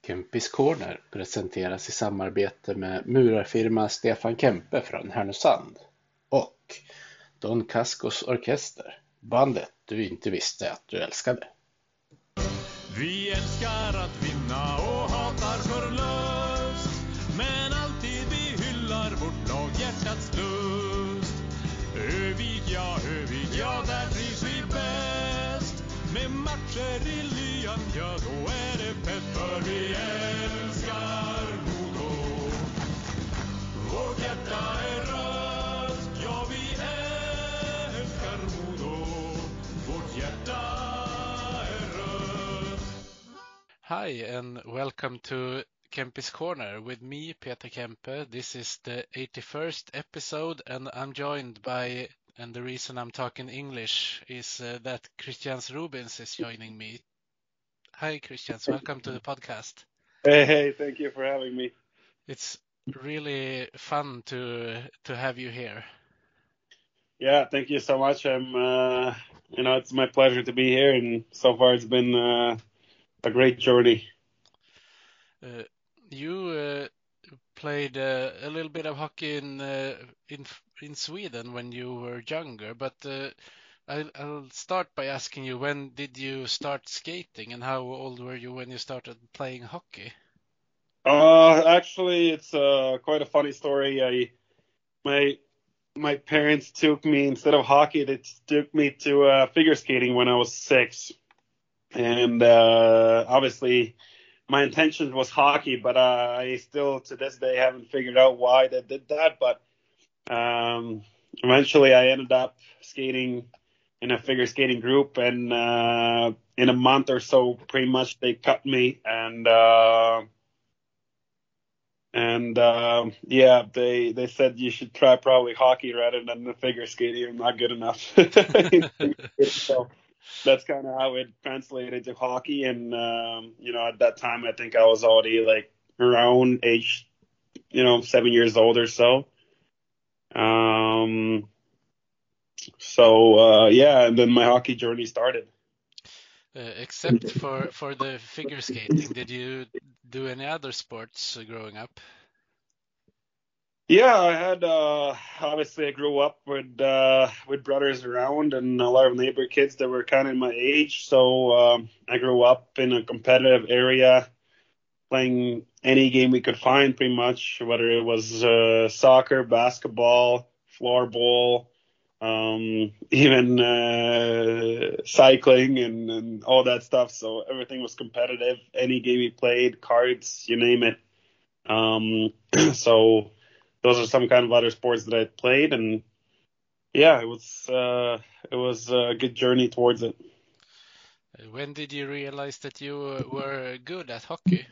Kempis Corner presenteras i samarbete med murarfirma Stefan Kempe från Härnösand och Don Cascos Orkester, bandet du inte visste att du älskade. Vi älskar att vinna och hatar förlust, men alltid vi hyllar vårt lag hjärtats lust. Övig, ja, där trivs vi bäst. Med matcher i lyan, ja då är det fett. För vi älskar Modo. Vårt hjärta är rött, ja vi älskar Modo. Vårt hjärta är rött. Hi and welcome to Kempis Corner with me, Peter Kempe. This is the 81st episode and I'm joined by, and the reason I'm talking English is that Christians Rubins is joining me. Hi Christians, welcome to the podcast. Hey, thank you for having me. It's really fun to have you here. Yeah, thank you so much. It's my pleasure to be here, and so far it's been a great journey. You played a little bit of hockey in Sweden when you were younger, but I'll start by asking you, when did you start skating and how old were you when you started playing hockey? Actually, it's quite a funny story. My parents took me, instead of hockey, they took me to figure skating when I was 6, and obviously my intention was hockey, but I still to this day haven't figured out why they did that. But eventually I ended up skating in a figure skating group, and in a month or so, pretty much they cut me, and they said you should try probably hockey rather than the figure skating. I'm not good enough. So that's kind of how it translated to hockey. And, at that time, I think I was already like around age, 7 years old or so. And then my hockey journey started. Except for the figure skating, did you do any other sports growing up? Yeah, I had obviously I grew up with brothers around and a lot of neighbor kids that were kind of my age. So I grew up in a competitive area, playing any game we could find, pretty much, whether it was soccer, basketball, floorball, even cycling and all that stuff. So everything was competitive. Any game we played, cards, you name it. So those are some kind of other sports that I played, and yeah, it was a good journey towards it. When did you realize that you were good at hockey?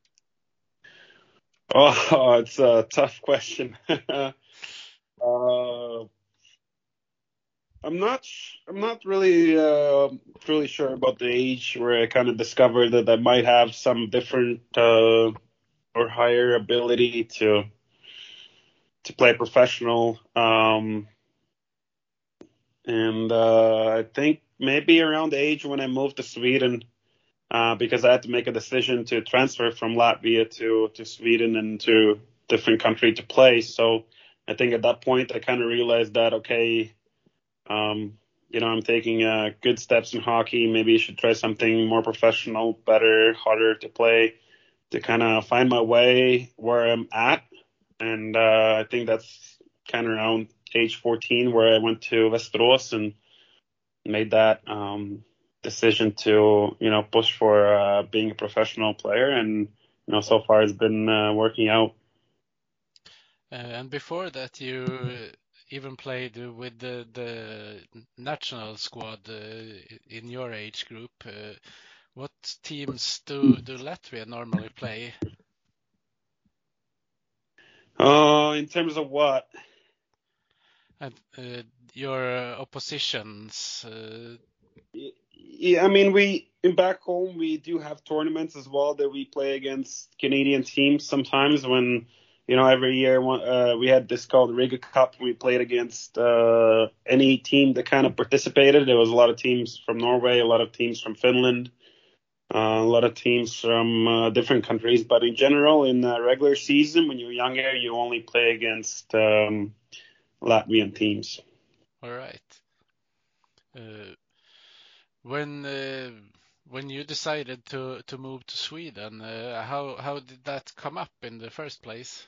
Oh, it's a tough question. I'm not really truly sure about the age where I kind of discovered that I might have some different or higher ability to play professional. I think maybe around the age when I moved to Sweden, because I had to make a decision to transfer from Latvia to Sweden and to different country to play. So I think at that point I kind of realized that, okay, I'm taking good steps in hockey. Maybe I should try something more professional, better, harder to play, to kind of find my way where I'm at. And I think that's kind of around age 14 where I went to Västerås and made that decision to, push for being a professional player. And, so far it's been working out. And before that, you even played with the national squad in your age group. What teams do Latvia normally play? In terms of what? And your oppositions. Yeah, I mean, back home we do have tournaments as well that we play against Canadian teams sometimes. When every year we had this called Riga Cup. We played against any team that kind of participated. There was a lot of teams from Norway, a lot of teams from Finland. a lot of teams from different countries. But in general, in the regular season, when you're younger, you only play against Latvian teams. All right. When you decided to move to Sweden, how did that come up in the first place?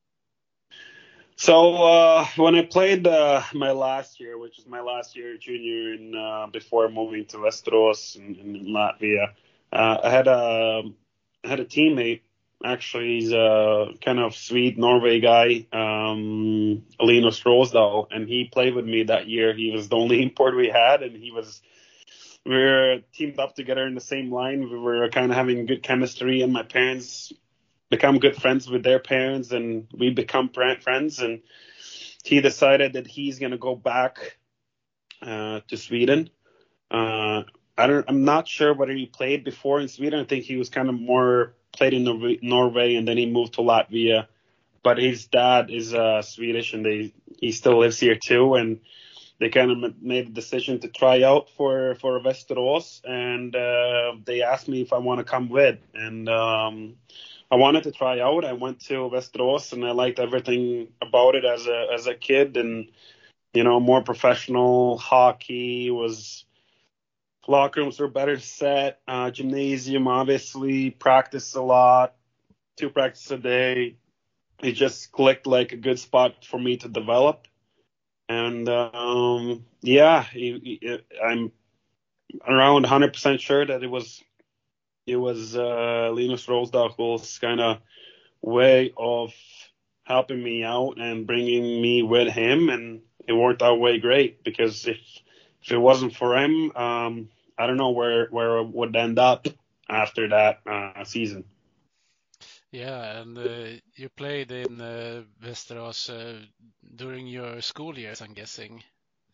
So when I played my last year, which is my last year junior, in before moving to Västerås in Latvia, I had a teammate. Actually, he's a kind of Swede Norway guy, Linus Rosdahl, and he played with me that year. He was the only import we had, and we were teamed up together in the same line. We were kind of having good chemistry, and my parents become good friends with their parents, and we become friends. And he decided that he's gonna go back to Sweden. I'm not sure whether he played before in Sweden. I think he was kind of more played in Norway, and then he moved to Latvia. But his dad is Swedish, and he still lives here too. And they kind of made the decision to try out for Västerås, and they asked me if I want to come with. And I wanted to try out. I went to Västerås, and I liked everything about it as a kid. And more professional hockey was. Locker rooms were better set. Gymnasium, obviously, practice a lot, 2 practices a day. It just clicked like a good spot for me to develop. And yeah, I'm around 100% sure that it was Linus Rosdahl's kind of way of helping me out and bringing me with him, and it worked out way great, because if it wasn't for him, I don't know where it would end up after that season. Yeah, and you played in Västerås during your school years, I'm guessing.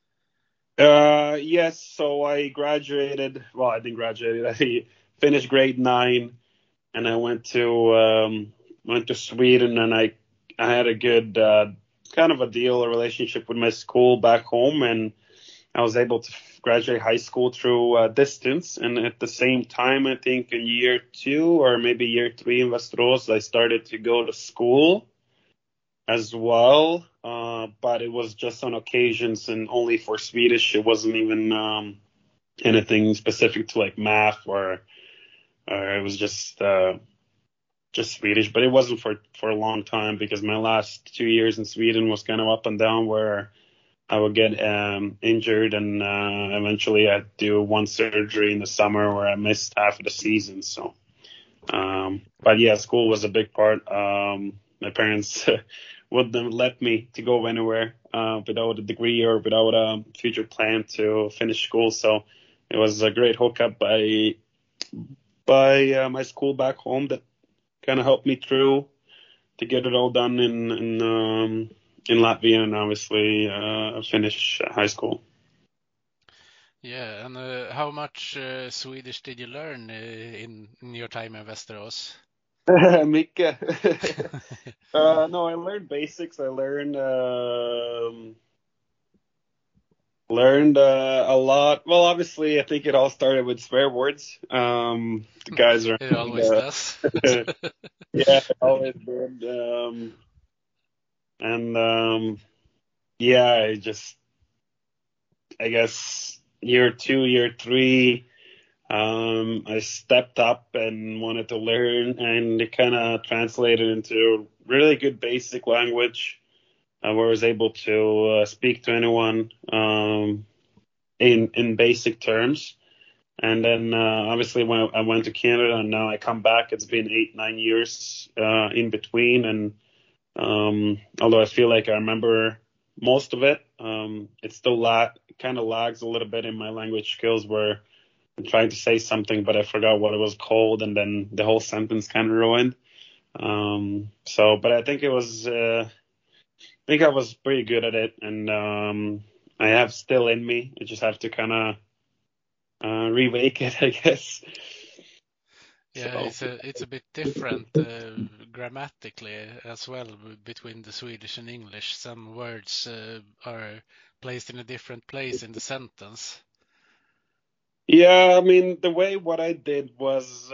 Yes, so I graduated. Well, I didn't graduate. I finished grade 9, and I went to Sweden, and I had a good kind of a relationship with my school back home, and I was able to graduate high school through distance. And at the same time, I think in year 2 or maybe year 3 in Västerås, I started to go to school as well. But it was just on occasions and only for Swedish. It wasn't even anything specific to like math or it was just Swedish. But it wasn't for a long time, because my last 2 years in Sweden was kind of up and down, where I would get injured, and eventually I'd do one surgery in the summer where I missed half of the season. So, but yeah, school was a big part. My parents wouldn't let me to go anywhere without a degree or without a future plan to finish school. So it was a great hookup by my school back home that kind of helped me through to get it all done in Latvia, and obviously finish high school. Yeah, and how much Swedish did you learn in your time in Västerås? Mycket. No, I learned basics. I learned a lot. Well, obviously, I think it all started with swear words. The guys are. It always does. Yeah, it always did. Yeah, I guess year 2, year 3, I stepped up and wanted to learn, and it kind of translated into really good basic language, where I was able to speak to anyone in basic terms. And then obviously when I went to Canada and now I come back, it's been 8-9 years in between, and although I feel like I remember most of it, it still kind of lags a little bit in my language skills, where I'm trying to say something but I forgot what it was called, and then the whole sentence kind of ruined. But I think I was pretty good at it, and I have still in me. I just have to kind of remake it, I guess. Yeah, it's a bit different grammatically as well between the Swedish and English. Some words are placed in a different place in the sentence. Yeah, I mean, what I did was,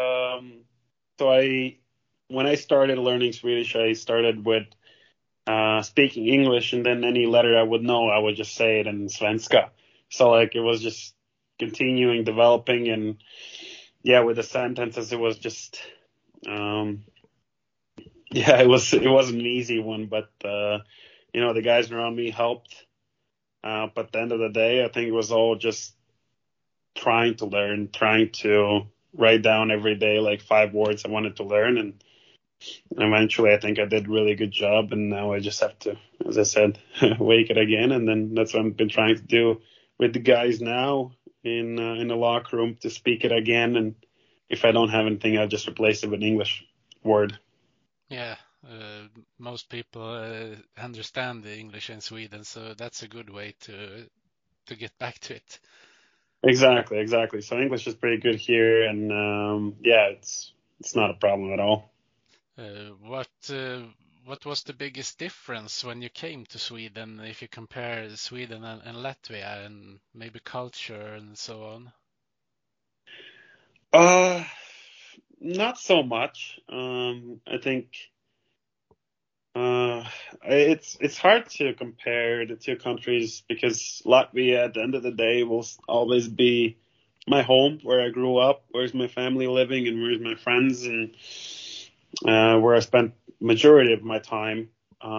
when I started learning Swedish, I started with speaking English, and then any letter I would know, I would just say it in svenska. So like it was just continuing developing, and yeah, with the sentences, it was just, um, yeah, it wasn't an easy one, but the guys around me helped. But at the end of the day, I think it was all just trying to learn, trying to write down every day like 5 words I wanted to learn, and eventually I think I did a really good job. And now I just have to, as I said, wake it again, and then that's what I've been trying to do with the guys now in the locker room, to speak it again. And if I don't have anything, I'll just replace it with an English word. Yeah, most people understand the English in Sweden, so that's a good way to get back to it. Exactly. So English is pretty good here, and yeah, it's not a problem at all. What was the biggest difference when you came to Sweden, if you compare Sweden and Latvia, and maybe culture and so on? Not so much. I think it's hard to compare the two countries, because Latvia, at the end of the day, will always be my home, where I grew up, where's my family living, and where's my friends, and where I spent majority of my time.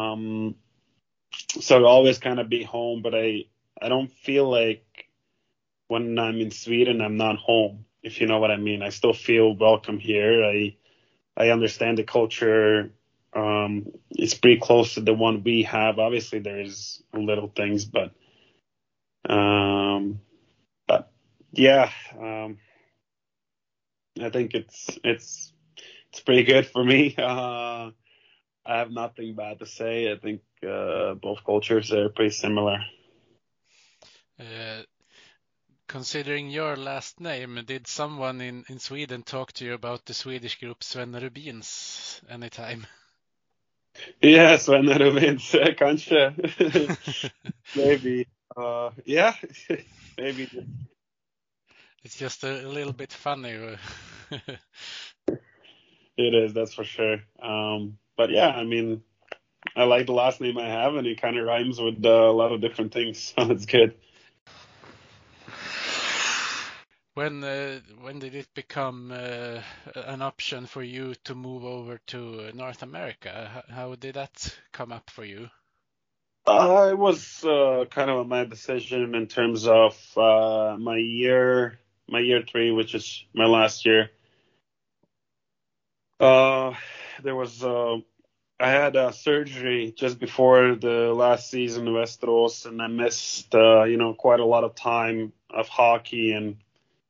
So it'll always kind of be home, but I don't feel like when I'm in Sweden, I'm not home, if you know what I mean. I still feel welcome here. I understand the culture. It's pretty close to the one we have. Obviously, there's little things, but yeah, I think it's pretty good for me. I have nothing bad to say. I think both cultures are pretty similar. Uh, Considering your last name, did someone in Sweden talk to you about the Swedish group Sven Rubins anytime? Yeah, Sven Rubins, kanske. Maybe. Yeah, maybe. It's just a little bit funny. It is, that's for sure. But yeah, I mean, I like the last name I have, and it kind of rhymes with a lot of different things, so it's good. When did it become an option for you to move over to North America? How did that come up for you? It was kind of my decision in terms of my year three, which is my last year. There was I had a surgery just before the last season of Westeros, and I missed quite a lot of time of hockey, and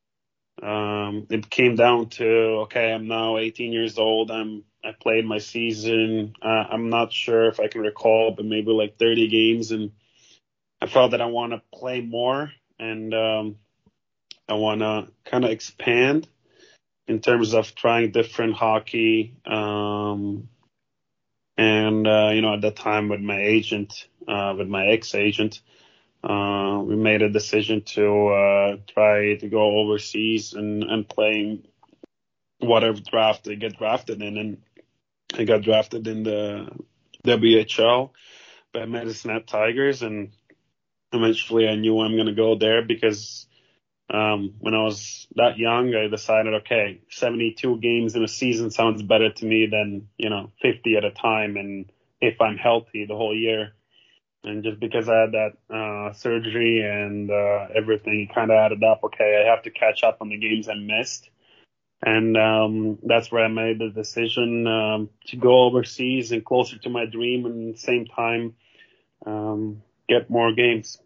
it came down to, okay, I'm now 18 years old. I played my season. I'm not sure if I can recall, but maybe like 30 games, and I felt that I want to play more, and I want to kind of expand in terms of trying different hockey. And at that time, with my agent, with my ex-agent, we made a decision to try to go overseas and play whatever draft I get drafted in. And I got drafted in the WHL by Medicine Hat Tigers, and eventually I knew I'm going to go there, because when I was that young, I decided, okay, 72 games in a season sounds better to me than 50 at a time, and if I'm healthy the whole year. And just because I had that surgery and everything kind of added up, okay, I have to catch up on the games I missed. And that's where I made the decision to go overseas and closer to my dream, and at the same time get more games.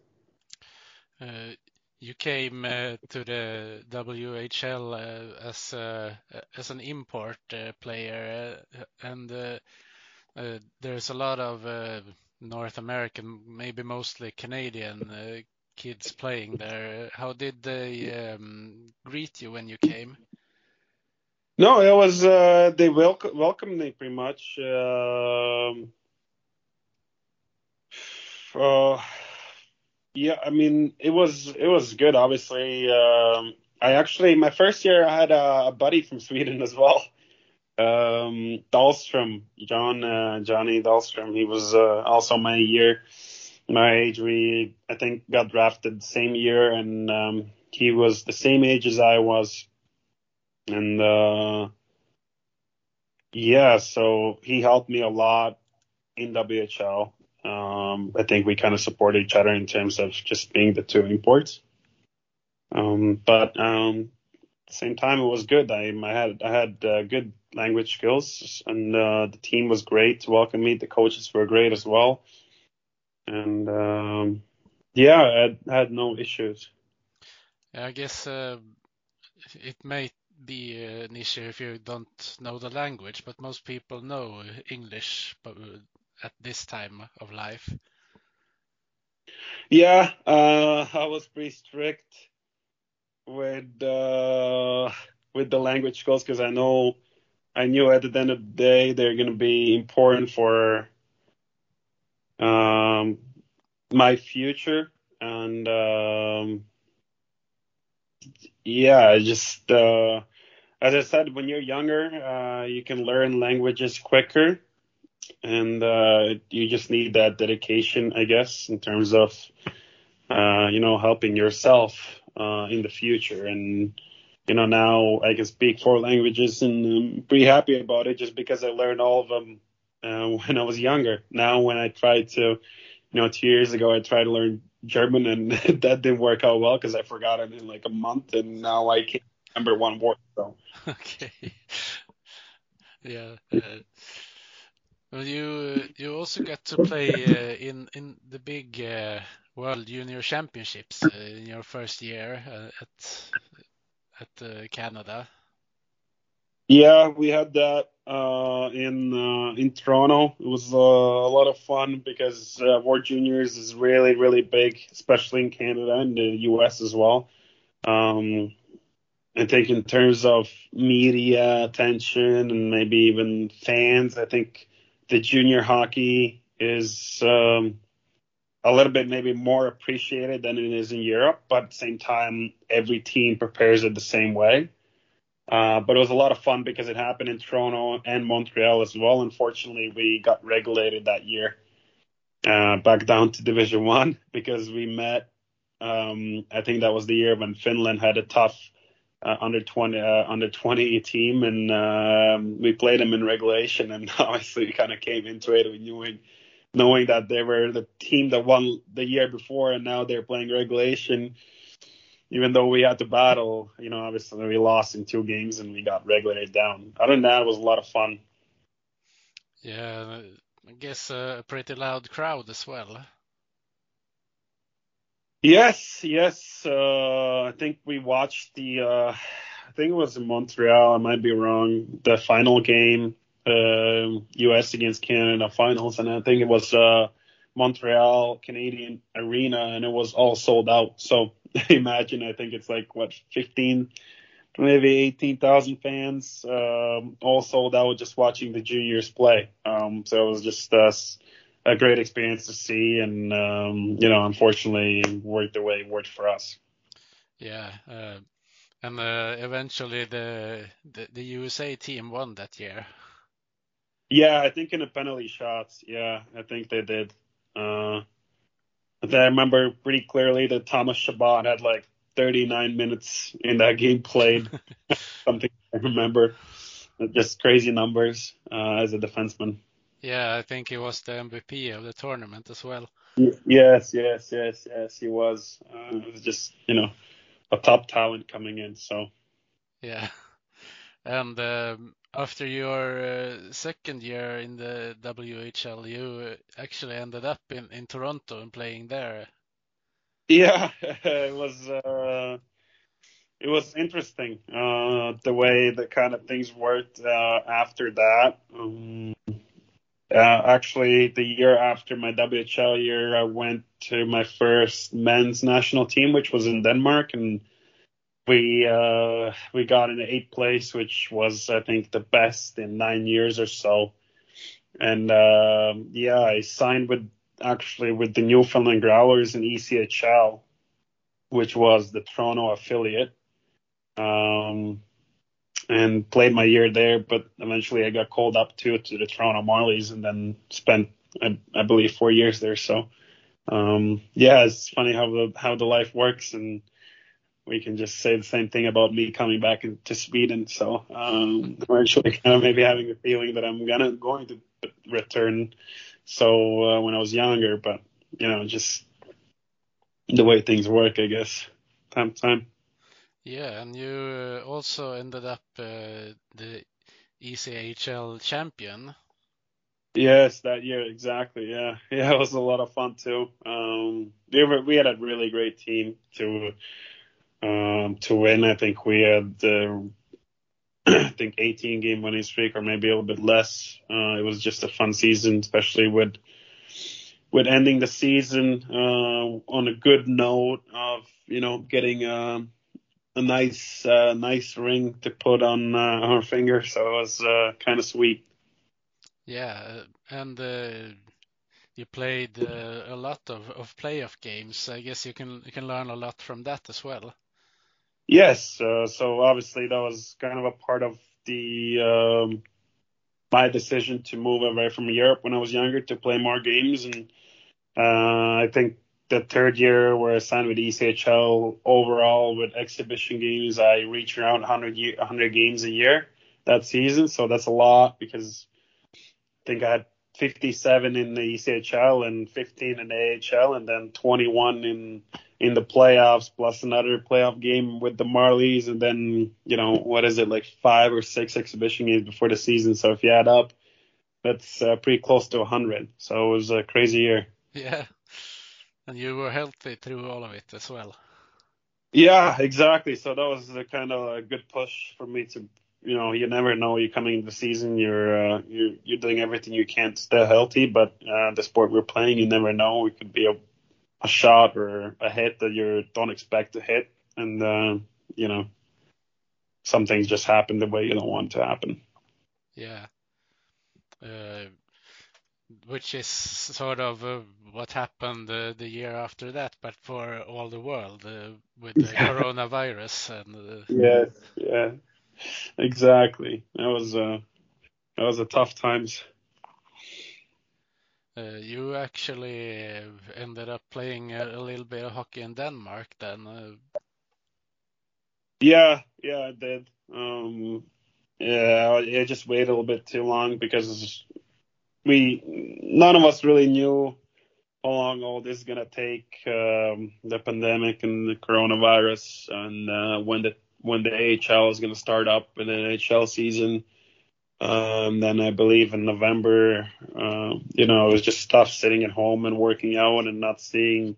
You came to the WHL as an import player, and there's a lot of North American, maybe mostly Canadian kids playing there. How did they greet you when you came? No, it was they welcomed me pretty much. Uh, Yeah, I mean, it was good. Obviously, I actually my first year I had a buddy from Sweden as well. Dahlstrom, Johnny Dahlstrom. He was also my year, my age. We I think got drafted the same year, and he was the same age as I was, and yeah, so he helped me a lot in WHL. I think we kind of support each other in terms of just being the two imports. But at the same time, it was good. I had good language skills, and the team was great to welcome me. The coaches were great as well, and yeah, I had no issues. I guess it may be an issue if you don't know the language, but most people know English at this time of life. Yeah, I was pretty strict with the language skills because I knew at the end of the day they're going to be important for um, my future. And yeah, as I said, when you're younger, you can learn languages quicker, and you just need that dedication, I guess, in terms of helping yourself in the future. And now I can speak four languages, and I'm pretty happy about it just because I learned all of them when I was younger. Now, when I tried to, 2 years ago, I tried to learn German, and that didn't work out well because I forgot it in like a month, and now I can't remember one word. So Okay. Yeah. Well, you also got to play in the big World Junior Championships in your first year at Canada. yeah, we had that in Toronto. It was a lot of fun because World Juniors is really really big, especially in Canada and the US as well. Um, I think in terms of media attention and maybe even fans, I think the junior hockey is a little bit maybe more appreciated than it is in Europe. But at the same time, every team prepares it the same way. But it was a lot of fun because it happened in Toronto and Montreal as well. Unfortunately, we got regulated that year back down to Division One because we met. I think that was the year when Finland had a tough under 20 team, and we played them in regulation. And obviously, we kind of came into it knowing that they were the team that won the year before, and now they're playing regulation. Even though we had to battle, obviously we lost in 2 games and we got regulated down. Other than that, it was a lot of fun. Yeah, I guess a pretty loud crowd as well. Yes, yes. I think we watched I think it was in Montreal. I might be wrong. The final game, U.S. against Canada finals, and I think it was Montreal Canadian Arena, and it was all sold out. So imagine, I think it's like what 15, maybe 18,000 fans, all sold out just watching the juniors play. So it was just a great experience to see, and unfortunately, worked the way it worked for us. Yeah, and eventually the USA team won that year. Yeah, I think in the penalty shots. Yeah, I think they did. I remember pretty clearly that Thomas Chabot had like 39 minutes in that game played. Something I remember. Just crazy numbers as a defenseman. Yeah, I think he was the MVP of the tournament as well. Yes, he was. It was just, a top talent coming in. So Yeah, and after your second year in the WHL, you actually ended up in Toronto and playing there. yeah, it was interesting the way the kind of things worked after that. Actually, the year after my WHL year, I went to my first men's national team, which was in Denmark, and we got in the 8th place, which was I think the best in 9 years or so. And yeah, I signed with actually with the Newfoundland Growlers in ECHL, which was the Toronto affiliate, and played my year there. But eventually I got called up to the Toronto Marlies and then spent, I believe, 4 years there. So, it's funny how the life works, and we can just say the same thing about me coming back to Sweden. So, we're actually kind of maybe having a feeling that I'm going to return. So, when I was younger, but, just the way things work, I guess, time to time. Yeah, and you also ended up the ECHL champion. Yes, that year, exactly. Yeah, it was a lot of fun too. We had a really great team to win. I think we had I think 18 game winning streak, or maybe a little bit less. It was just a fun season, especially with ending the season on a good note of getting a nice ring to put on our finger. So it was kind of sweet. Yeah, and you played a lot of playoff games. I guess you can learn a lot from that as well. Yes, so obviously that was kind of a part of the my decision to move away from Europe when I was younger to play more games, and I think the third year where I signed with ECHL, overall with exhibition games, I reached around 100 games a year that season. So that's a lot, because I think I had 57 in the ECHL and 15 in the AHL, and then 21 in the playoffs, plus another playoff game with the Marlies, and then, what is it, like 5 or 6 exhibition games before the season. So if you add up, that's pretty close to 100. So it was a crazy year. Yeah, and you were healthy through all of it as well. Yeah, exactly. So that was a kind of a good push for me to, you never know. You're coming into the season, you're doing everything you can to stay healthy, but the sport we're playing, you never know. It could be a shot or a hit that you don't expect to hit, and some things just happen the way you don't want to happen. Yeah, which is sort of what happened the year after that, but for all the world with the coronavirus and. Yeah, exactly. That was a tough times. You actually ended up playing a little bit of hockey in Denmark then. Yeah, I did. I just waited a little bit too long because none of us really knew how long all this is gonna take, the pandemic and the coronavirus, and when the AHL is gonna start up in the NHL season. Then I believe in November, it was just tough sitting at home and working out and not seeing,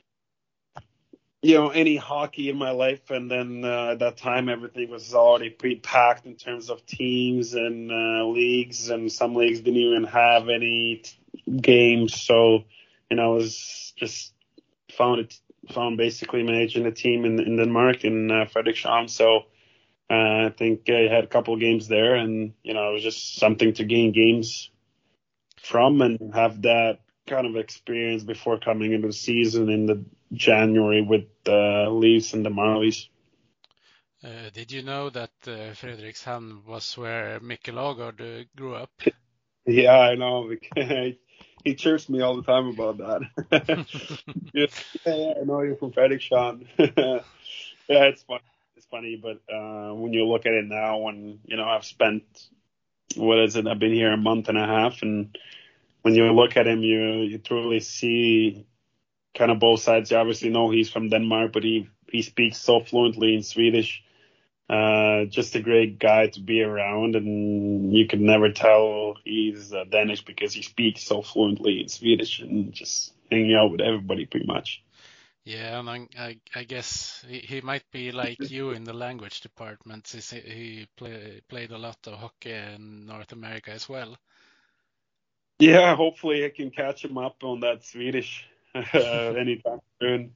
any hockey in my life. And then at that time, everything was already pre-packed in terms of teams and leagues, and some leagues didn't even have any games. So, I was just found basically managing a team in Denmark, in Frederikshavn. So I think I had a couple of games there, and it was just something to gain games from and have that kind of experience before coming into the season in the January with the Leafs and the Marlies. Did you know that Frederikshavn was where Mikkel Aagaard grew up? Yeah, I know. He chirps me all the time about that. Yeah, I know you're from Frederikshavn. Yeah, it's funny. It's funny, but when you look at it now, when I've spent, I've been here a month and a half, and when you look at him, you truly see kind of both sides. You obviously know he's from Denmark, but he speaks so fluently in Swedish. Just a great guy to be around, and you could never tell he's Danish because he speaks so fluently in Swedish, and just hanging out with everybody pretty much. Yeah, and I guess he might be like you in the language department. He played a lot of hockey in North America as well. Yeah, hopefully I can catch him up on that Swedish anytime soon.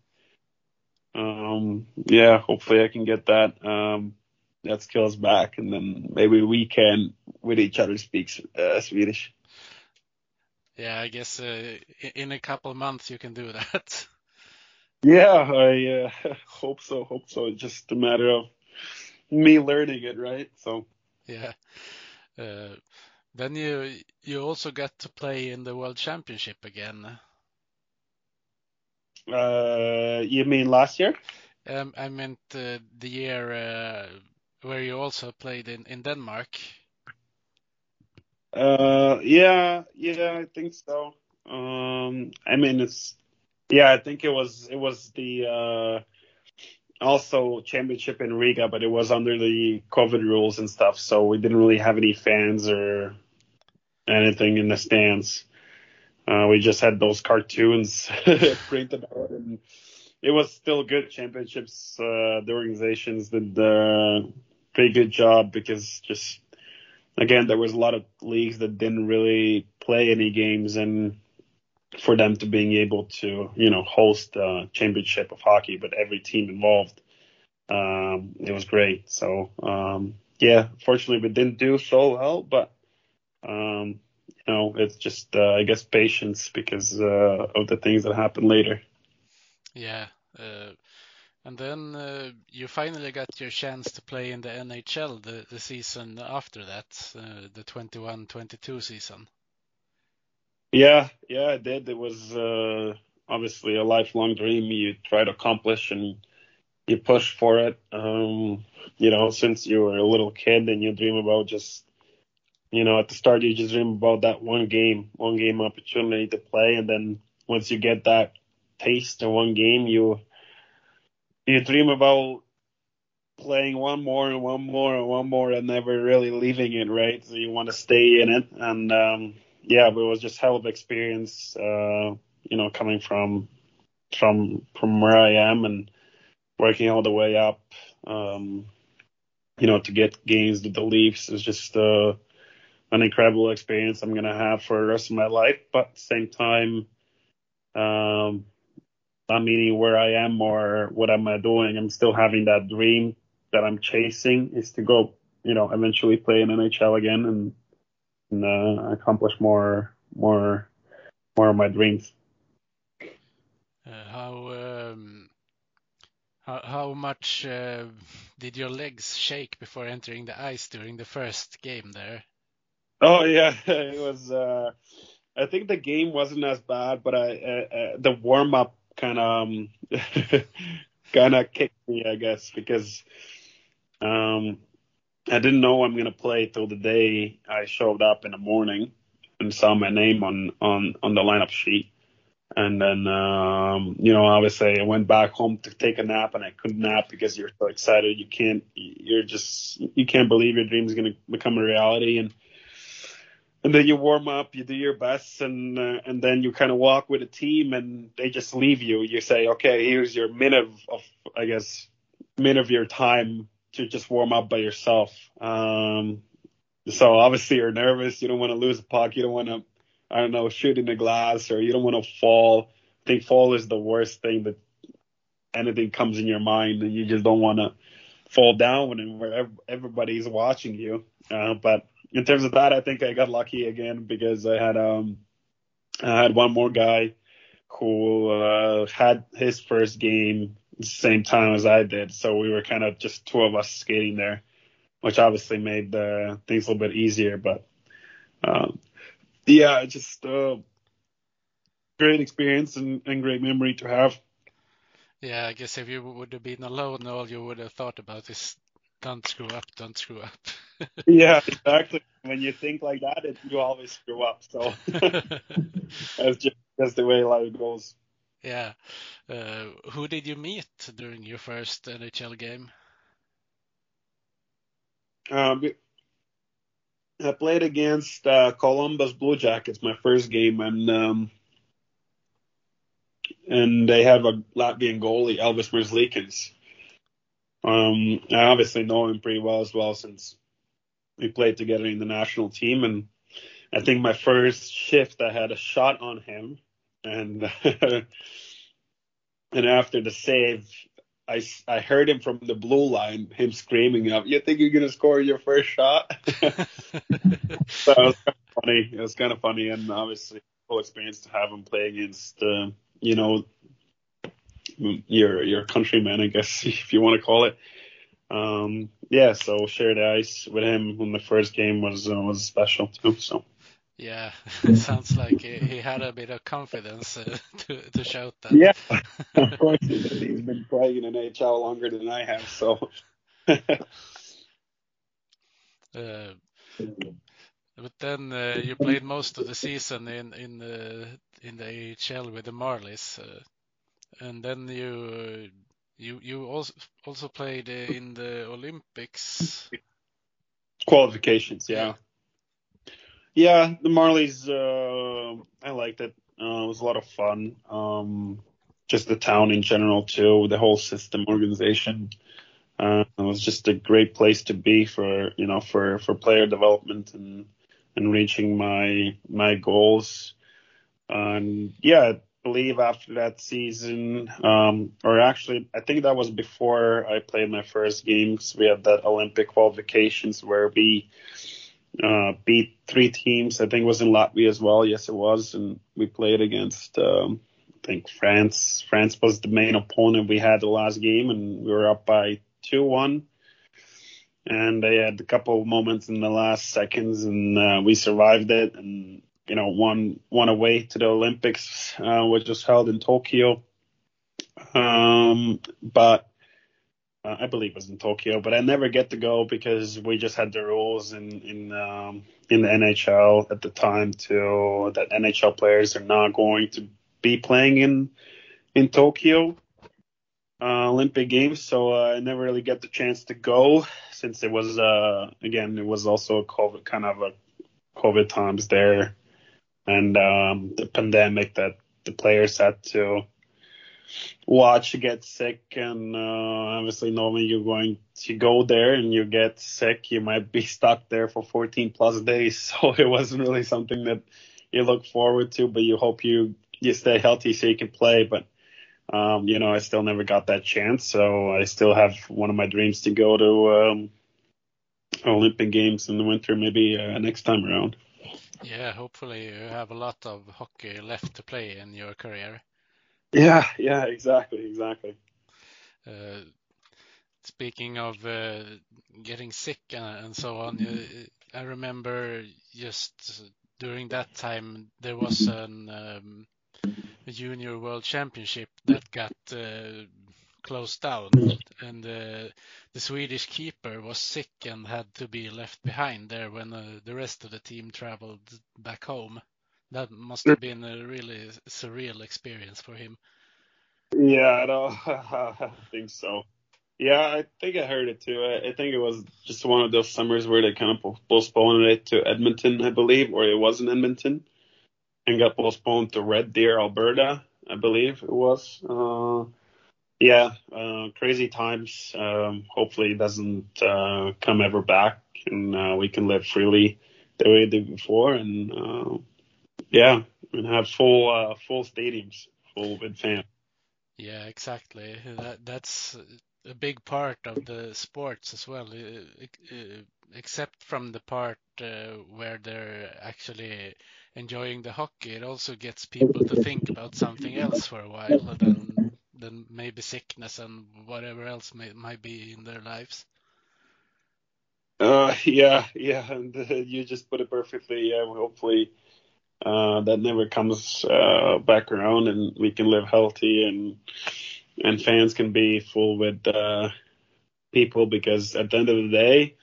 Yeah, hopefully I can get that skills back, and then maybe we can with each other speak Swedish. Yeah, I guess in a couple of months you can do that. Yeah, I hope so. Hope so. It's just a matter of me learning it, right? So, Yeah. Uh, then you also got to play in the World Championship again. you mean last year? I meant the year where you also played in Denmark. Yeah, I think so. I mean, yeah, I think it was the also championship in Riga, but it was under the COVID rules and stuff, so we didn't really have any fans or anything in the stands. We just had those cartoons printed out, and it was still good championships. The organizations did a pretty good job because just again there was a lot of leagues that didn't really play any games, and for them to being able to host a championship of hockey, but every team involved, it was great. So yeah, fortunately we didn't do so well, but it's just I guess patience because of the things that happened later. Yeah. And then you finally got your chance to play in the NHL the season after that, the 21-22 season. Yeah, I did. It was obviously a lifelong dream you try to accomplish, and you push for it. Since you were a little kid, and you dream about just, at the start you just dream about that one game opportunity to play, and then once you get that taste of one game, you dream about playing one more and one more and one more and never really leaving it, right? So you want to stay in it, and yeah, but it was just hell of experience, coming from where I am and working all the way up, to get games with the Leafs is just an incredible experience I'm gonna have for the rest of my life. But at the same time, not meaning where I am or what am I doing. I'm still having that dream that I'm chasing is to go, eventually play in NHL again and accomplish more of my dreams. How much did your legs shake before entering the ice during the first game there? Oh yeah, it was. I think the game wasn't as bad, but the warm up kind of kind of kicked me, I guess, because um, I didn't know I'm gonna play till the day I showed up in the morning and saw my name on the lineup sheet. And then, obviously I went back home to take a nap and I couldn't nap because you're so excited. You can't believe your dream is going to become a reality. And then you warm up, you do your best, and then you kind of walk with a team and they just leave you. You say, okay, here's your minute minute of your time to just warm up by yourself. So obviously you're nervous. You don't want to lose a puck. You don't want to, I don't know, shoot in the glass, or you don't want to fall. I think fall is the worst thing that anything comes in your mind, and you just don't want to fall down when everybody's watching you. But in terms of that, I think I got lucky again because I had one more guy who had his first game the same time as I did, so we were kind of just two of us skating there, which obviously made things a little bit easier. But yeah, just great experience and great memory to have. Yeah, I guess if you would have been alone, all you would have thought about is don't screw up, don't screw up. Yeah, exactly. When you think like that, you always screw up. So that's just the way life goes. Yeah. Who did you meet during your first NHL game? Um, I played against Columbus Blue Jackets my first game, and they have a Latvian goalie, Elvis Merzlikins. I obviously know him pretty well as well since we played together in the national team. And I think my first shift, I had a shot on him, and and after the save, I heard him from the blue line, him screaming up, "You think you're gonna score your first shot?" So it was kind of funny. It was kind of funny, and obviously cool experience to have him play against, your countryman, I guess, if you want to call it. So share the ice with him in the first game was special too. So Yeah, it sounds like he had a bit of confidence to shout that. yeah, of course he did. He's been playing in NHL longer than I have, so. But then you played most of the season in the AHL with the Marlies, and then you also played in the Olympics Qualifications, yeah. Yeah, the Marlies, I liked it. It was a lot of fun. Just the town in general too, the whole system organization. It was just a great place to be for player development and reaching my goals. And yeah, I believe after that season, or actually, I think that was before I played my first games. We had that Olympic qualifications where we beat 3 teams. I think it was in Latvia as well. Yes, it was. And we played against, I think France. France was the main opponent we had the last game, and we were up by 2-1. And they had a couple of moments in the last seconds, and we survived it. And, won away to the Olympics, which was held in Tokyo. But I believe it was in Tokyo, but I never get to go because we just had the rules in the NHL at the time that NHL players are not going to be playing in Tokyo Olympic Games. So I never really get the chance to go since it was it was also COVID times there, and the pandemic that the players had to watch get sick, and obviously normally you're going to go there and you get sick, you might be stuck there for 14 plus days. So it wasn't really something that you look forward to, but you hope you stay healthy so you can play. But I still never got that chance, so I still have one of my dreams to go to Olympic Games in the winter, maybe next time around. Yeah, hopefully you have a lot of hockey left to play in your career. Yeah, exactly. Speaking of getting sick and so on, I remember just during that time there was a junior world championship that got closed down, and the Swedish keeper was sick and had to be left behind there when the rest of the team traveled back home. That must have been a really surreal experience for him. Yeah, I think so. Yeah, I think I heard it too. I think it was just one of those summers where they kind of postponed it to Edmonton, I believe, or it was in Edmonton, and got postponed to Red Deer, Alberta, I believe it was. Crazy times. Hopefully it doesn't come ever back, and we can live freely the way we did before, and and have full stadiums, full with fans. Yeah, exactly. That's a big part of the sports as well, except from the part where they're actually enjoying the hockey. It also gets people to think about something else for a while than maybe sickness and whatever else might be in their lives. And you just put it perfectly. Yeah, hopefully that never comes back around, and we can live healthy, and fans can be full with people, because at the end of the day,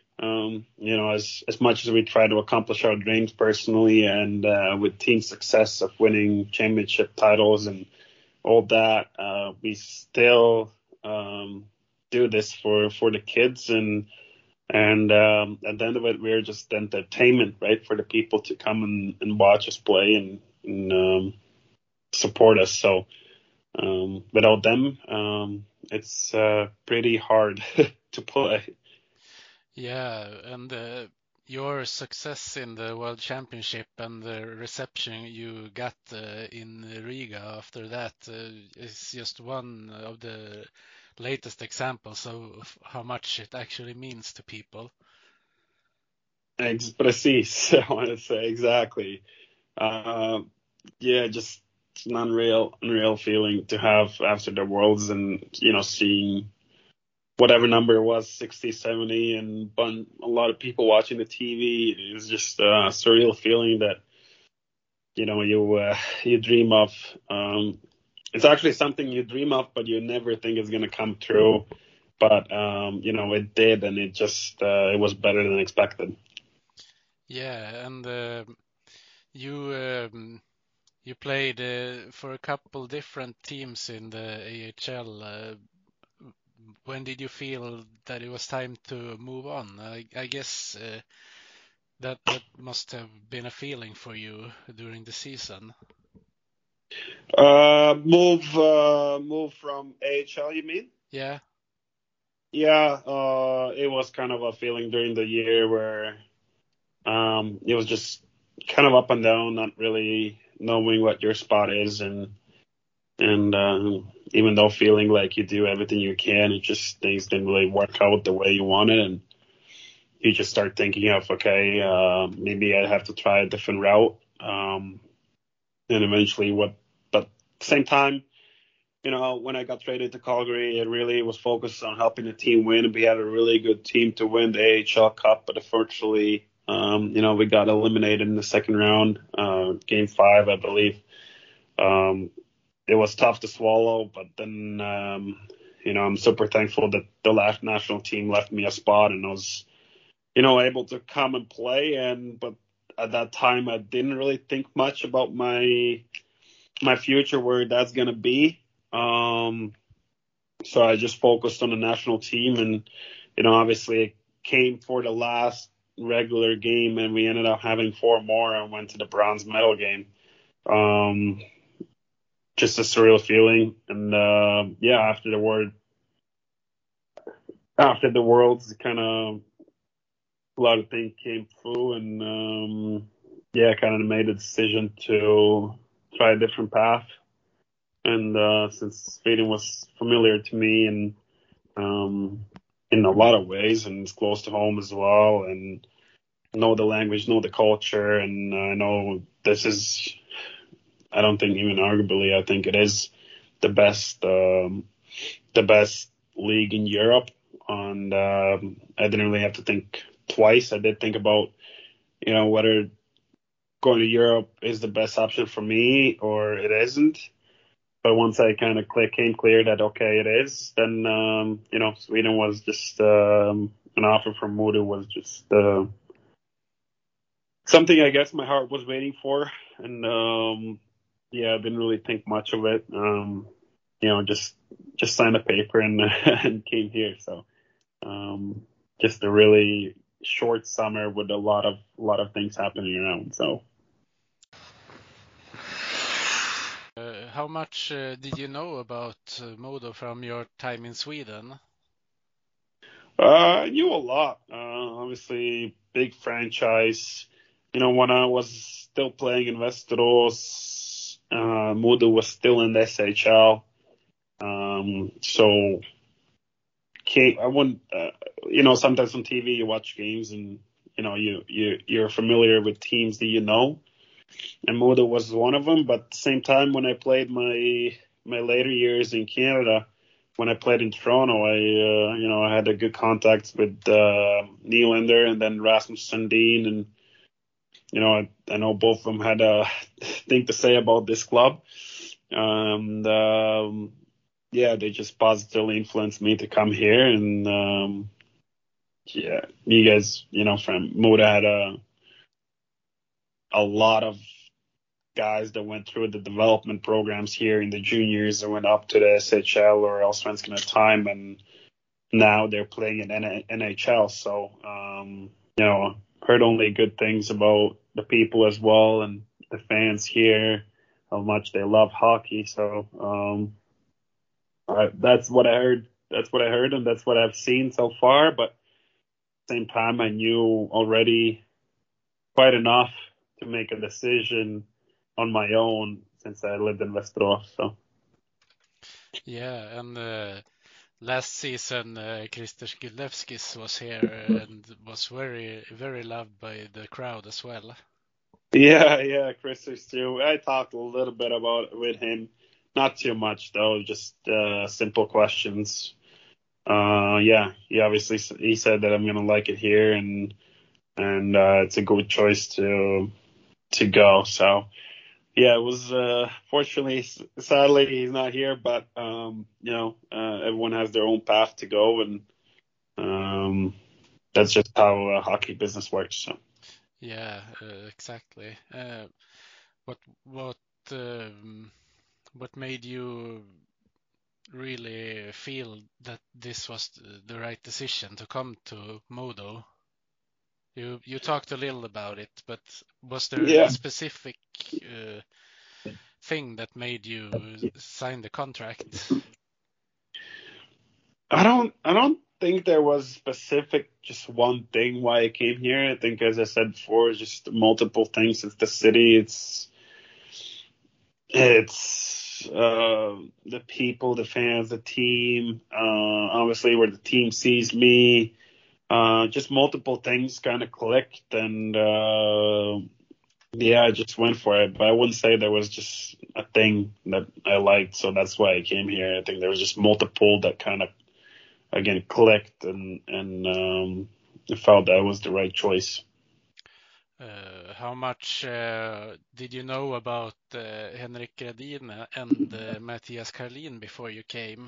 as much as we try to accomplish our dreams personally and with team success of winning championship titles and all that, we still do this for the kids, and at the end of it, we're just entertainment, right, for the people to come and watch us play and support us. So without them, it's pretty hard to play. Yeah, and your success in the World Championship and the reception you got in Riga after that is just one of the latest examples of how much it actually means to people. Precis, I want to say exactly. yeah, just an unreal feeling to have after the Worlds, and seeing whatever number it was, 60, 70, and a lot of people watching the TV. It was just a surreal feeling that you dream of. It's actually something you dream of, but you never think it's gonna come true. But it did, and it was better than expected. Yeah, and you you played for a couple different teams in the AHL. When did you feel that it was time to move on? I guess that must have been a feeling for you during the season. Move from AHL, you mean? Yeah. Yeah, it was kind of a feeling during the year where it was just kind of up and down, not really knowing what your spot is, and even though feeling like you do everything you can, it just things didn't really work out the way you wanted, and you just start thinking of, okay, maybe I have to try a different route, and eventually but at the same time, when I got traded to Calgary, it really was focused on helping the team win. We had a really good team to win the AHL Cup, but unfortunately, we got eliminated in the second round, game 5, I believe. It was tough to swallow, but then, I'm super thankful that the last national team left me a spot, and I was, able to come and play. But at that time, I didn't really think much about my future, where that's going to be. So I just focused on the national team, and, obviously it came for the last regular game, and we ended up having 4 more and went to the bronze medal game. Just a surreal feeling. And, after the Worlds, kind of a lot of things came through, and, kind of made a decision to try a different path. And since Sweden was familiar to me, and in a lot of ways, and it's close to home as well, and know the language, know the culture, and I know this is, I don't think even arguably, I think it is the best league in Europe. And I didn't really have to think twice. I did think about, whether going to Europe is the best option for me or it isn't. But once I kind of came clear that, okay, it is, then, Sweden was just an offer from Modo was just something I guess my heart was waiting for. And, I didn't really think much of it. Just signed a paper and, and came here. So just a really short summer with a lot of things happening around. So. How much did you know about Modo from your time in Sweden? I knew a lot. Obviously, big franchise. When I was still playing in Västerås, Modo was still in the SHL. So I wouldn't. Sometimes on TV you watch games, and you're familiar with teams that and Modo was one of them. But at the same time, when I played my later years in Canada, when I played in Toronto, I had a good contact with Nylander and then Rasmus Sandin, and I know both of them had a thing to say about this club, and they just positively influenced me to come here. And you guys, from Moda had a lot of guys that went through the development programs here in the juniors that went up to the SHL or Allsvenskan at the time, and now they're playing in NHL. So, heard only good things about the people as well, and the fans here, how much they love hockey. So, that's what I heard. And that's what I've seen so far. But at the same time, I knew already quite enough to make a decision on my own since I lived in Västerås. So. Yeah, and last season, Krister Skidlevskis was here and was very, very loved by the crowd as well. Yeah, Chris is too. I talked a little bit about it with him, not too much though, just simple questions. Yeah, he said that I'm gonna like it here, and it's a good choice to go. So yeah, it was fortunately, sadly, he's not here, but everyone has their own path to go, and that's just how hockey business works. So. Yeah, exactly. What what what made you really feel that this was the right decision to come to Modo? You talked a little about it, but was there a Yeah, specific uh, thing that made you sign the contract? I don't think there was specific just one thing why I came here. I think, as I said before, just multiple things. It's the city. It's the people, the fans, the team. Obviously, where the team sees me. Just multiple things kind of clicked, and yeah, I just went for it. But I wouldn't say there was just a thing that I liked, so that's why I came here. I think there was just multiple that kind of again clicked, and I felt that was the right choice. How much did you know about Henrik Gradin and Matthias Karlin before you came?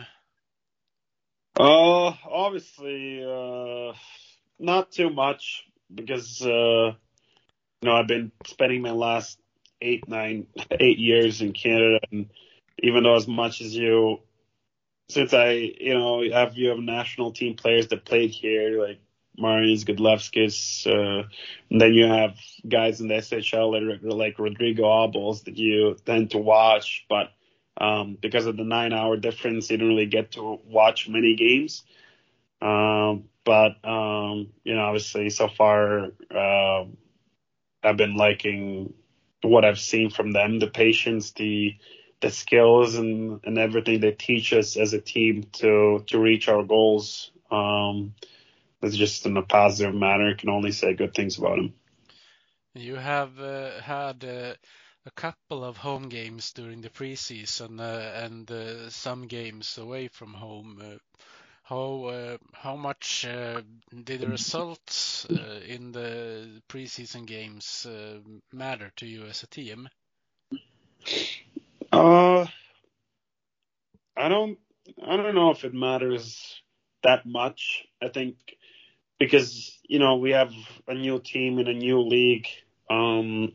Obviously, not too much because I've been spending my last 8 years in Canada, and even though as much as since you have national team players that played here, like Marius Godlevskis, and then you have guys in the SHL like Rodrigo Abels that you tend to watch, but because of the 9 hour difference, you don't really get to watch many games. But obviously, so far, I've been liking what I've seen from them, the patience, the skills, and everything they teach us as a team to reach our goals. It's just in a positive manner. I can only say good things about them. You have had a couple of home games during the preseason and some games away from home. How much did the results in the preseason games matter to you as a team? Uh, I don't I don't know if it matters that much. I think because we have a new team in a new league. Um,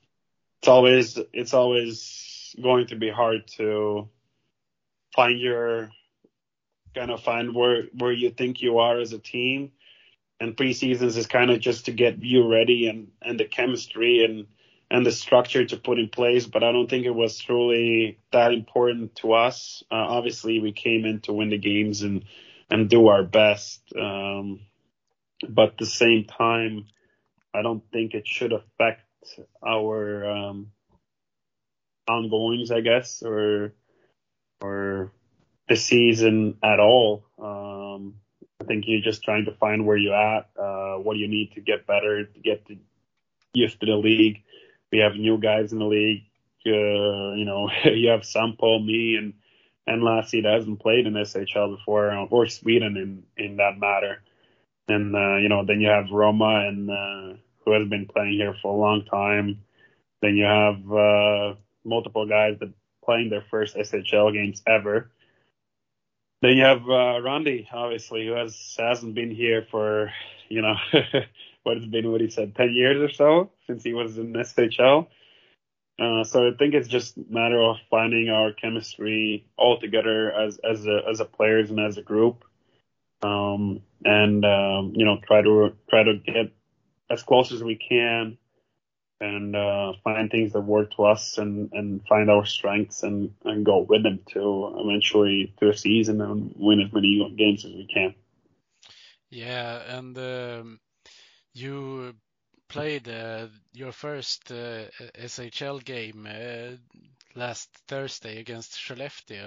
it's always going to be hard to find your find where you think you are as a team. And preseasons is kind of just to get you ready and the chemistry and the structure to put in place. But I don't think it was truly that important to us. Obviously, we came in to win the games and do our best. But at the same time, I don't think it should affect our ongoings, I guess, or the season at all. I think you're just trying to find where you're at, what you need to get better, to get used to the league. We have new guys in the league. You have Sampo, me, and Lassie that hasn't played in SHL before, or Sweden in that matter. And then you have Roma, and who has been playing here for a long time. Then you have multiple guys that playing their first SHL games ever. Then you have Randy, obviously, who hasn't been here for, what has been, what he said, 10 years or so since he was in SHL. So I think it's just a matter of finding our chemistry all together as a players and as a group, and try to get as close as we can and find things that work to us and find our strengths and go with them to eventually to a season and win as many games as we can. Yeah, and you played your first SHL game last Thursday against Skellefteå.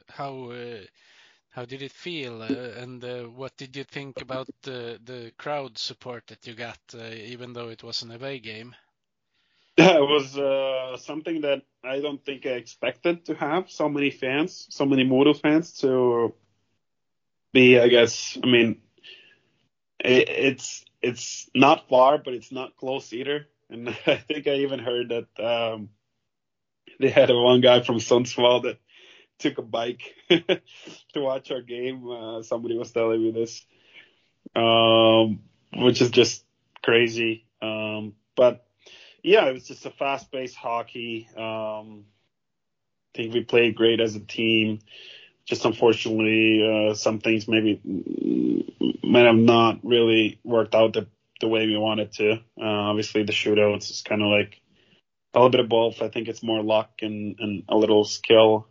How did it feel, and what did you think about the crowd support that you got, even though it was an away game? It was something that I don't think I expected to have so many fans, so many Modo fans to be. I guess I mean it's not far, but it's not close either. And I think I even heard that they had one guy from Sundsvall that took a bike to watch our game. Somebody was telling me this, which is just crazy. But yeah, it was just a fast-paced hockey. I think we played great as a team. Just unfortunately, some things maybe might have not really worked out the way we wanted to. Obviously, the shootouts is kind of like a little bit of both. I think it's more luck and a little skill.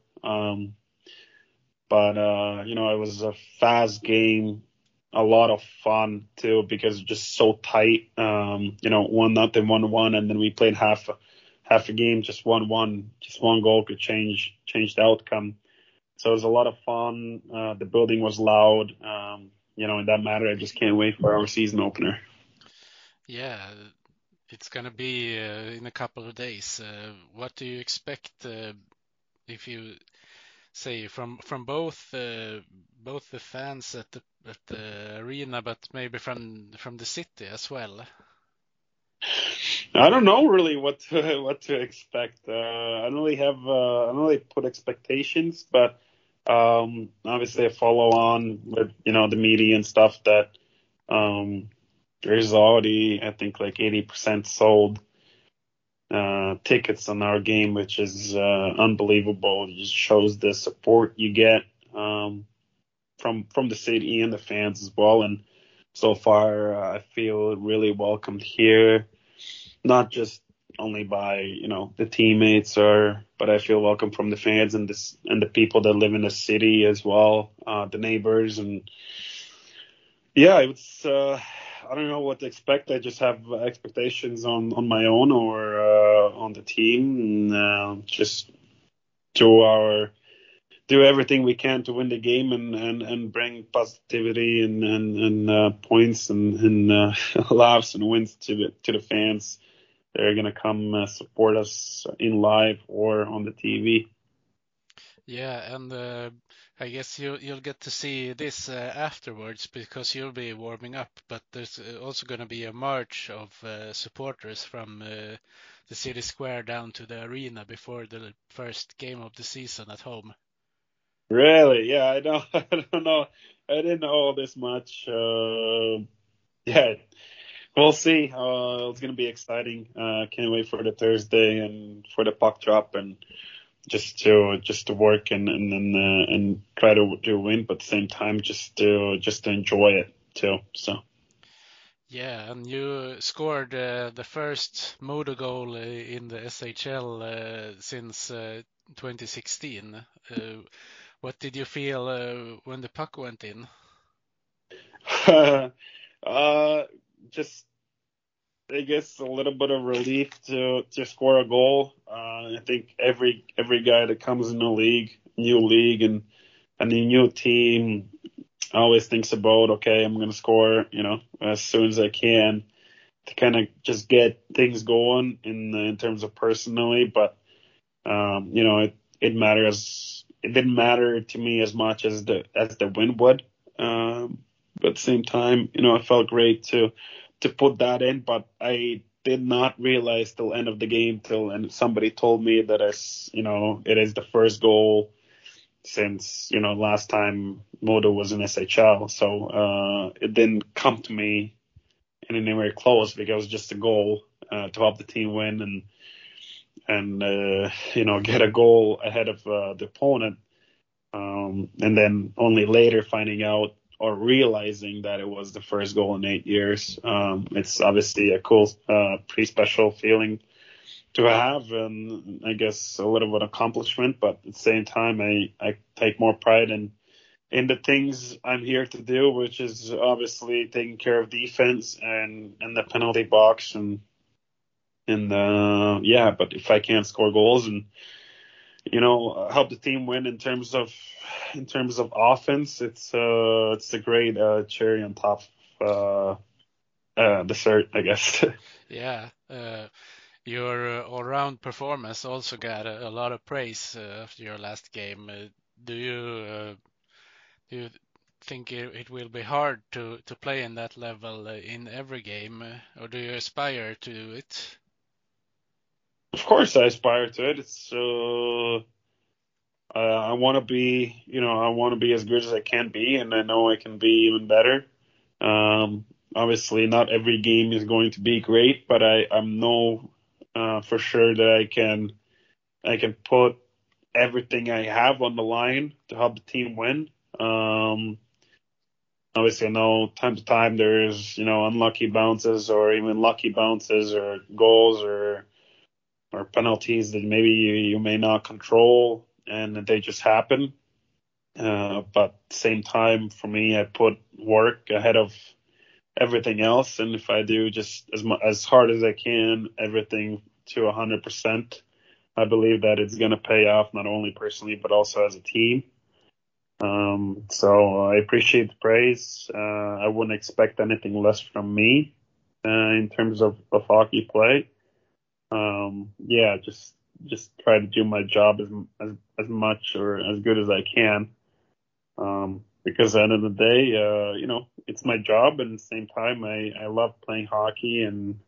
But it was a fast game, a lot of fun too because just so tight. 1-0, 1-1, and then we played half a game, just 1-1, just one goal could change the outcome. So it was a lot of fun. The building was loud. In that matter, I just can't wait for our season opener. Yeah, it's gonna be in a couple of days. What do you expect if you say from both the fans at the arena, but maybe from the city as well? I don't know really what to expect. I don't really put expectations, but obviously I follow on with the media and stuff that there's already I think like 80% sold tickets on our game, which is unbelievable. It just shows the support you get from the city and the fans as well. And so far, I feel really welcomed here, not just only by the teammates, but I feel welcome from the fans and the people that live in the city as well, the neighbors, and yeah, it's I don't know what to expect. I just have expectations on my own or on the team, and just do everything we can to win the game and bring positivity and points and laughs and wins to the fans. They're gonna come support us in live or on the TV. Yeah, and I guess you'll get to see this afterwards because you'll be warming up. But there's also going to be a march of supporters from the city square down to the arena before the first game of the season at home. Really? Yeah, I know. I don't know. I didn't know this much. Yeah, we'll see. It's gonna be exciting. Can't wait for the Thursday and for the puck drop and just to work and try to win, but at the same time just to enjoy it too. So. Yeah, and you scored the first Modo goal in the SHL since 2016. What did you feel when the puck went in? Just I guess a little bit of relief to score a goal. I think every guy that comes in the new league and a new team always thinks about, okay, I'm gonna score, as soon as I can to kind of just get things going in terms of personally. But it matters. It didn't matter to me as much as the win would. But at the same time, I felt great to put that in, but I did not realize till end of the game and somebody told me that it is the first goal since last time Modo was in SHL. So it didn't come to me anywhere close because it was just a goal to help the team win and get a goal ahead of the opponent. And then only later finding out or realizing that it was the first goal in 8 years. It's obviously a cool, pretty special feeling to have, and I guess a little bit of accomplishment, but at the same time, I take more pride in the things I'm here to do, which is obviously taking care of defense and the penalty box and but if I can't score goals and help the team win in terms of offense, it's a great cherry on top dessert, I guess. Yeah, Your all-round performance also got a lot of praise after your last game. Do you think it will be hard to play in that level in every game, or do you aspire to do it? Of course, I aspire to it. It's I want to be, I want to be as good as I can be, and I know I can be even better. Obviously, not every game is going to be great, but I know for sure that I can put everything I have on the line to help the team win. Obviously, I know time to time there's unlucky bounces or even lucky bounces or goals or penalties that maybe you may not control and they just happen. But at the same time, for me, I put work ahead of everything else, and if I do just as hard as I can, everything to 100%, I believe that it's going to pay off not only personally but also as a team. So I appreciate the praise. I wouldn't expect anything less from me in terms of hockey play. Yeah, just try to do my job as much or as good as I can. Because at the end of the day, it's my job, and at the same time, I love playing hockey, and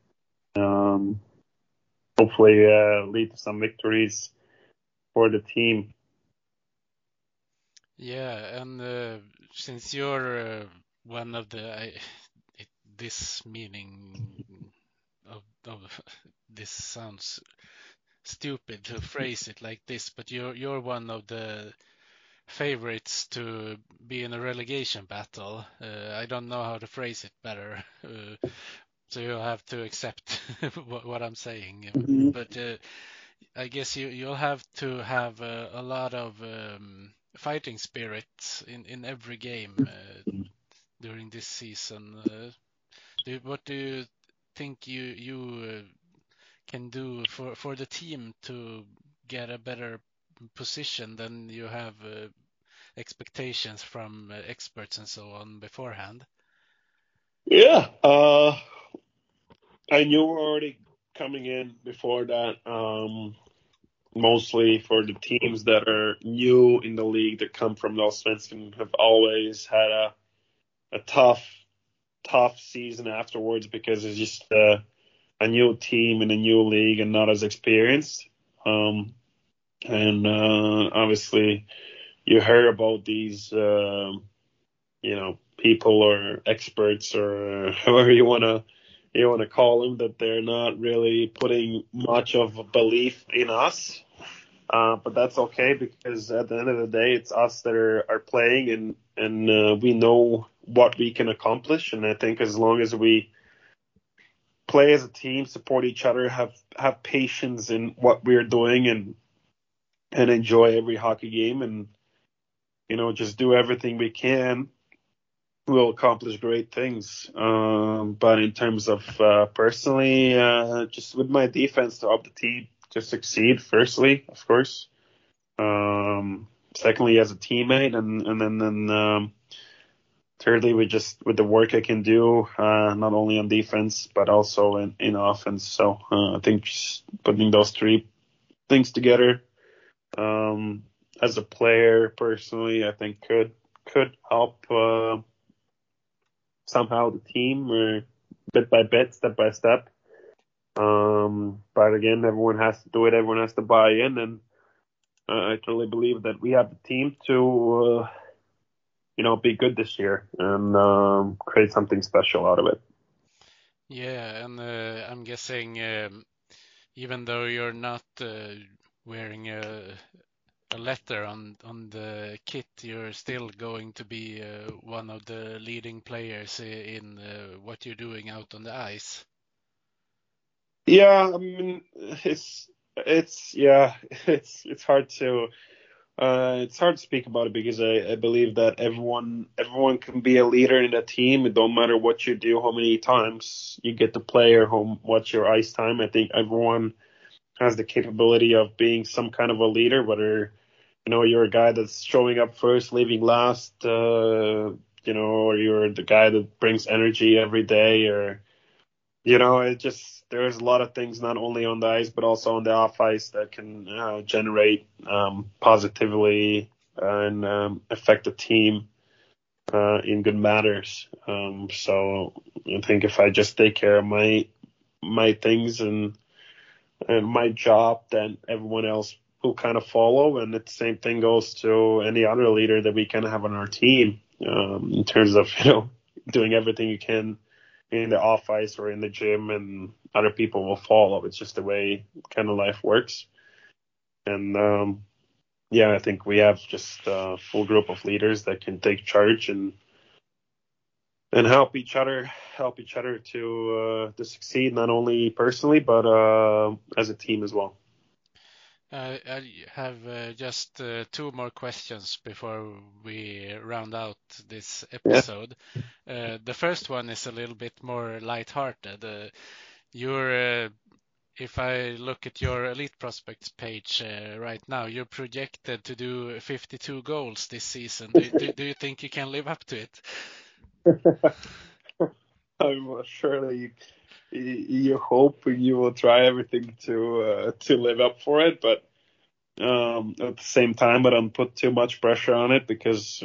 hopefully lead to some victories for the team. Yeah, and since you're one of this meaning of this sounds stupid to phrase it like this, but you're one of the favorites to be in a relegation battle. I don't know how to phrase it better, so you'll have to accept what I'm saying. Mm-hmm. But I guess you'll have to have a lot of fighting spirit in every game during this season. What do you think you can do for the team to get a better position than you have expectations from experts and so on beforehand? Yeah, I knew already coming in before that. Mostly for the teams that are new in the league that come from Allsvenskan have always had a tough season afterwards because it's just a new team in a new league and not as experienced. And obviously you hear about these, people or experts or however you want to call them, that they're not really putting much of a belief in us. But that's okay, because at the end of the day, it's us that are playing, and we know what we can accomplish. And I think as long as we play as a team, support each other, have patience in what we're doing, and enjoy every hockey game, and just do everything we can, we'll accomplish great things. But in terms of personally, just with my defense to help the team to succeed, firstly, of course. Secondly, as a teammate, and then thirdly, with the work I can do, not only on defense but also in offense. So I think just putting those three things together, as a player personally, I think could help somehow the team, or bit by bit, step by step. But again, everyone has to do it. Everyone has to buy in, and I totally believe that we have the team to, be good this year and create something special out of it. Yeah, and I'm guessing even though you're not wearing a letter on the kit, you're still going to be one of the leading players in what you're doing out on the ice. Yeah, I mean, it's hard to speak about it, because I believe that everyone can be a leader in a team. It don't matter what you do, how many times you get to play, or what's your ice time. I think everyone has the capability of being some kind of a leader, whether you're a guy that's showing up first, leaving last, or you're the guy that brings energy every day, or there's a lot of things not only on the ice but also on the off ice that can generate positively and affect the team in good matters. So I think if I just take care of my things and my job, then everyone else will kind of follow. And the same thing goes to any other leader that we can have on our team, in terms of, doing everything you can in the off ice or in the gym, and other people will follow. It's just the way kind of life works. And, I think we have just a full group of leaders that can take charge and help each other to succeed, not only personally, but as a team as well. I have just 2 more questions before we round out this episode. Yeah. The first one is a little bit more lighthearted. If I look at your Elite Prospects page right now, you're projected to do 52 goals this season. Do you think you can live up to it? Surely you hope you will try everything to live up for it, but at the same time, I don't put too much pressure on it, because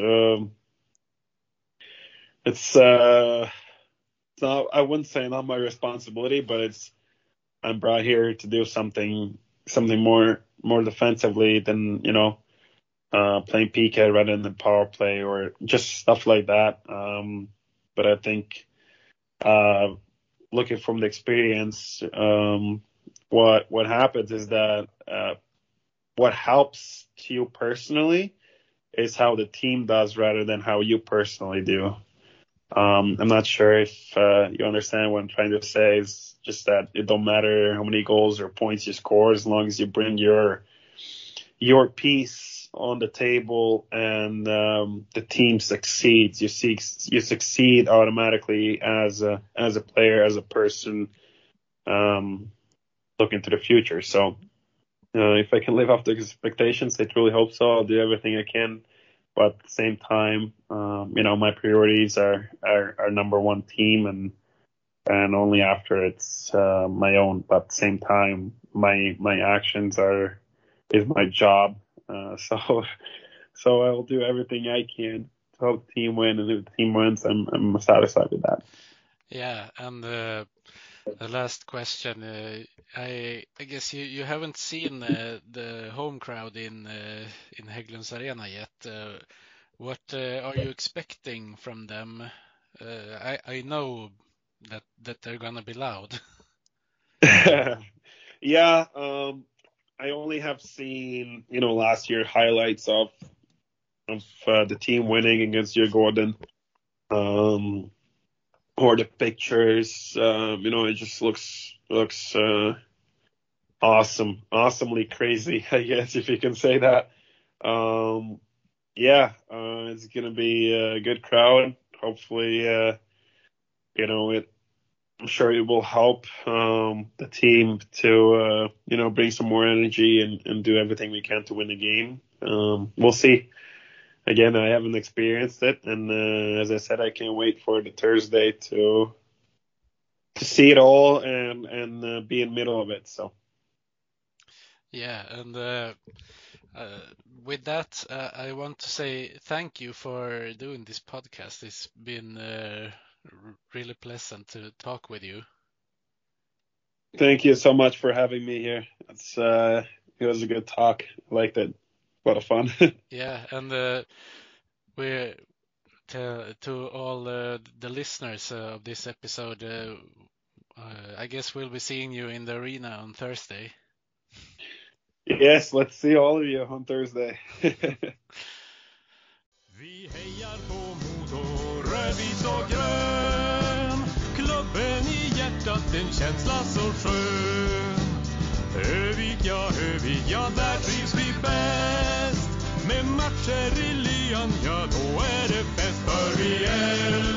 it's not, I wouldn't say not my responsibility, but I'm brought here to do something more defensively than playing PK rather than power play or just stuff like that. But I think looking from the experience, what happens is that what helps to you personally is how the team does rather than how you personally do. I'm not sure if you understand what I'm trying to say. Is just that it don't matter how many goals or points you score, as long as you bring your piece on the table and the team succeeds. You succeed automatically as a player, as a person, looking to the future. So if I can live up to expectations, I truly hope so. I'll do everything I can. But at the same time, my priorities are number one team, and only after it's my own. But at the same time, my actions is my job. So I'll do everything I can to help the team win, and if the team wins, I'm satisfied with that. Yeah, and the last question, I guess you haven't seen the home crowd in Hägglunds Arena yet. What are you expecting from them? I know that they're gonna be loud. Yeah, I only have seen last year highlights of the team winning against Djurgården. Or the pictures, it just looks awesomely crazy, I guess, if you can say that. It's gonna be a good crowd. Hopefully, I'm sure it will help the team to bring some more energy and do everything we can to win the game. We'll see. Again, I haven't experienced it, and as I said, I can't wait for the Thursday to see it all and be in the middle of it. So, yeah, and with that, I want to say thank you for doing this podcast. It's been really pleasant to talk with you. Thank you so much for having me here. It was a good talk. I liked it. A lot of fun. Yeah, and we're to all the listeners of this episode. I guess we'll be seeing you in the arena on Thursday. Yes, let's see all of you on Thursday. Vi hejar på Modo, rödvit och grön. Klubben i hjärtat, en känsla så skön. Övik, ja, där trivs vi bäst. Med matcher i lyan, ja då är det fest. För vi